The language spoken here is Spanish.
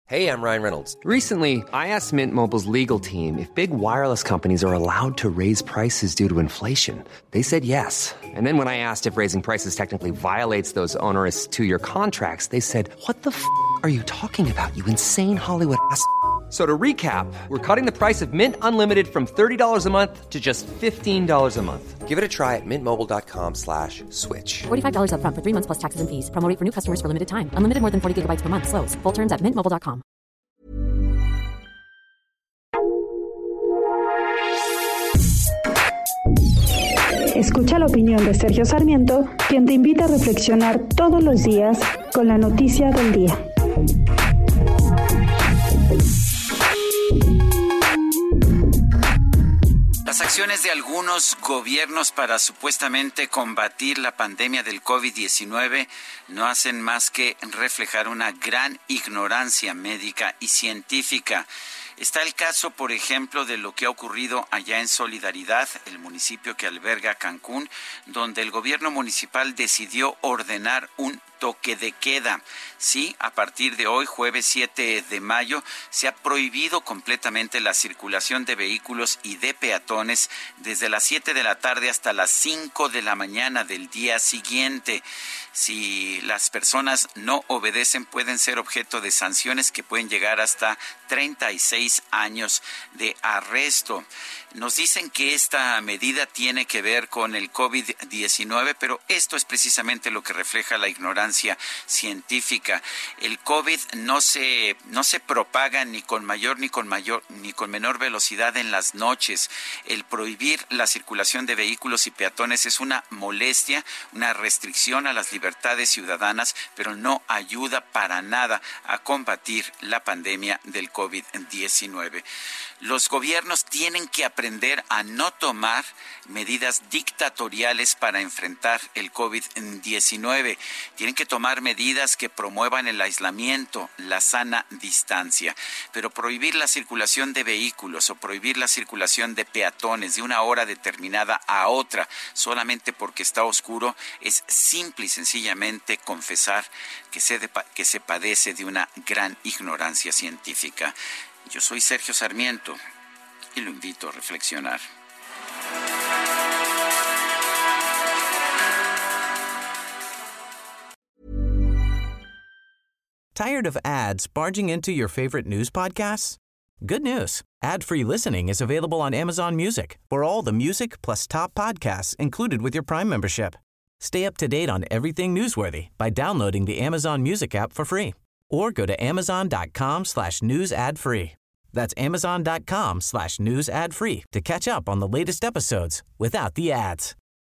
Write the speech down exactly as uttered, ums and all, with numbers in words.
Hey, I'm Ryan Reynolds. Recently, I asked Mint Mobile's legal team if big wireless companies are allowed to raise prices due to inflation. They said yes. And then when I asked if raising prices technically violates those onerous two-year contracts, they said, what the f*** are you talking about, you insane Hollywood ass f- So to recap, we're cutting the price of Mint Unlimited from thirty dollars a month to just fifteen dollars a month. Give it a try at mintmobile.com slash switch. forty-five dollars up front for three months plus taxes and fees. Promo rate for new customers for limited time. Unlimited more than forty gigabytes per month. Slows full terms at mint mobile dot com. Escucha la opinión de Sergio Sarmiento, quien te invita a reflexionar todos los días con la noticia del día. Las acciones de algunos gobiernos para supuestamente combatir la pandemia del COVID diecinueve no hacen más que reflejar una gran ignorancia médica y científica. Está el caso, por ejemplo, de lo que ha ocurrido allá en Solidaridad, el municipio que alberga Cancún, donde el gobierno municipal decidió ordenar un toque de queda. Sí, a partir de hoy, jueves siete de mayo, se ha prohibido completamente la circulación de vehículos y de peatones desde las siete de la tarde hasta las cinco de la mañana del día siguiente. Si las personas no obedecen, pueden ser objeto de sanciones que pueden llegar hasta treinta y seis años de arresto. Nos dicen que esta medida tiene que ver con el COVID diecinueve, pero esto es precisamente lo que refleja la ignorancia científica. El COVID no se, no se propaga ni con mayor ni con mayor ni con menor velocidad en las noches. El prohibir la circulación de vehículos y peatones es una molestia, una restricción a las libertades ciudadanas, pero no ayuda para nada a combatir la pandemia del COVID diecinueve. Los gobiernos tienen que aprender a no tomar medidas dictatoriales para enfrentar el COVID diecinueve. Tienen que tomar medidas que promuevan el aislamiento, la sana distancia. Pero prohibir la circulación de vehículos o prohibir la circulación de peatones de una hora determinada a otra solamente porque está oscuro es simple y sencillamente confesar que se, de, que se padece de una gran ignorancia científica. Yo soy Sergio Sarmiento y lo invito a reflexionar. Tired of ads barging into your favorite news podcasts? Good news. Ad-free listening is available on Amazon Music for all the music plus top podcasts included with your Prime membership. Stay up to date on everything newsworthy by downloading the Amazon Music app for free or go to amazon.com slash news ad free. That's amazon.com slash news ad free to catch up on the latest episodes without the ads.